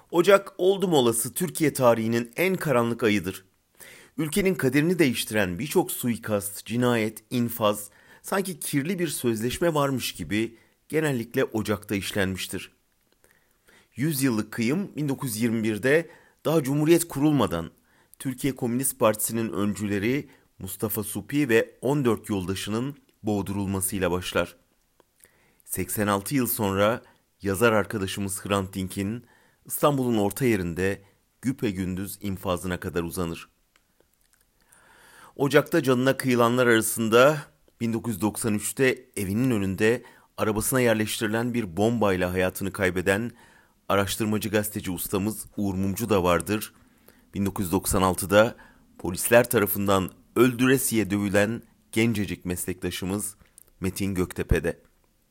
Ocak oldum olası Türkiye tarihinin en karanlık ayıdır. Ülkenin kaderini değiştiren birçok suikast, cinayet, infaz, sanki kirli bir sözleşme varmış gibi genellikle Ocak'ta işlenmiştir. 100 yıllık kıyım 1921'de daha Cumhuriyet kurulmadan Türkiye Komünist Partisi'nin öncüleri Mustafa Suphi ve 14 yoldaşının boğdurulmasıyla başlar. 86 yıl sonra yazar arkadaşımız Hrant Dink'in İstanbul'un orta yerinde güpegündüz infazına kadar uzanır. Ocak'ta canına kıyılanlar arasında 1993'te evinin önünde arabasına yerleştirilen bir bombayla hayatını kaybeden araştırmacı gazeteci ustamız Uğur Mumcu da vardır. 1996'da polisler tarafından öldüresiye dövülen gencecik meslektaşımız Metin Göktepe'de.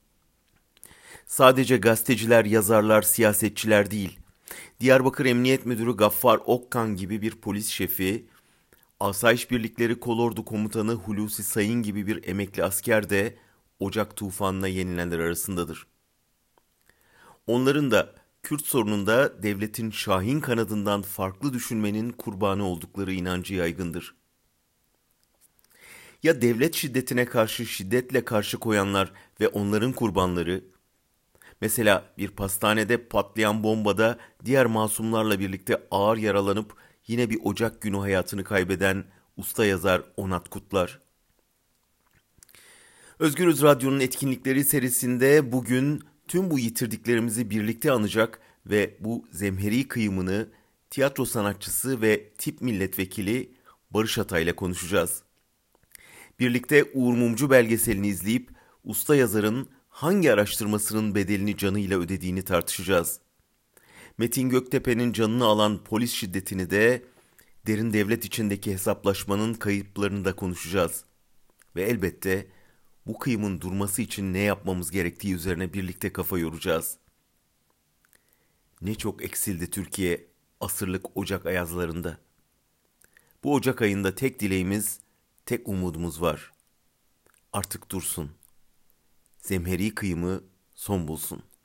Sadece gazeteciler, yazarlar, siyasetçiler değil, Diyarbakır Emniyet Müdürü Gaffar Okkan gibi bir polis şefi, Asayiş Birlikleri Kolordu Komutanı Hulusi Sayın gibi bir emekli asker de Ocak tufanına yenilenler arasındadır. Onların da Kürt sorununda devletin şahin kanadından farklı düşünmenin kurbanı oldukları inancı yaygındır. Ya devlet şiddetine karşı şiddetle karşı koyanlar ve onların kurbanları, mesela bir pastanede patlayan bombada diğer masumlarla birlikte ağır yaralanıp yine bir Ocak günü hayatını kaybeden usta yazar Onat Kutlar. Özgürüz Radyo'nun etkinlikleri serisinde bugün tüm bu yitirdiklerimizi birlikte anacak ve bu zemheri kıyımını tiyatro sanatçısı ve tip milletvekili Barış Atay'la konuşacağız. Birlikte Uğur Mumcu belgeselini izleyip usta yazarın hangi araştırmasının bedelini canıyla ödediğini tartışacağız. Metin Göktepe'nin canını alan polis şiddetini de, derin devlet içindeki hesaplaşmanın kayıplarını da konuşacağız. Ve elbette bu kıyımın durması için ne yapmamız gerektiği üzerine birlikte kafa yoracağız. Ne çok eksildi Türkiye asırlık Ocak ayazlarında. Bu Ocak ayında tek dileğimiz, tek umudumuz var. Artık dursun. Zemheri kıyımı son bulsun.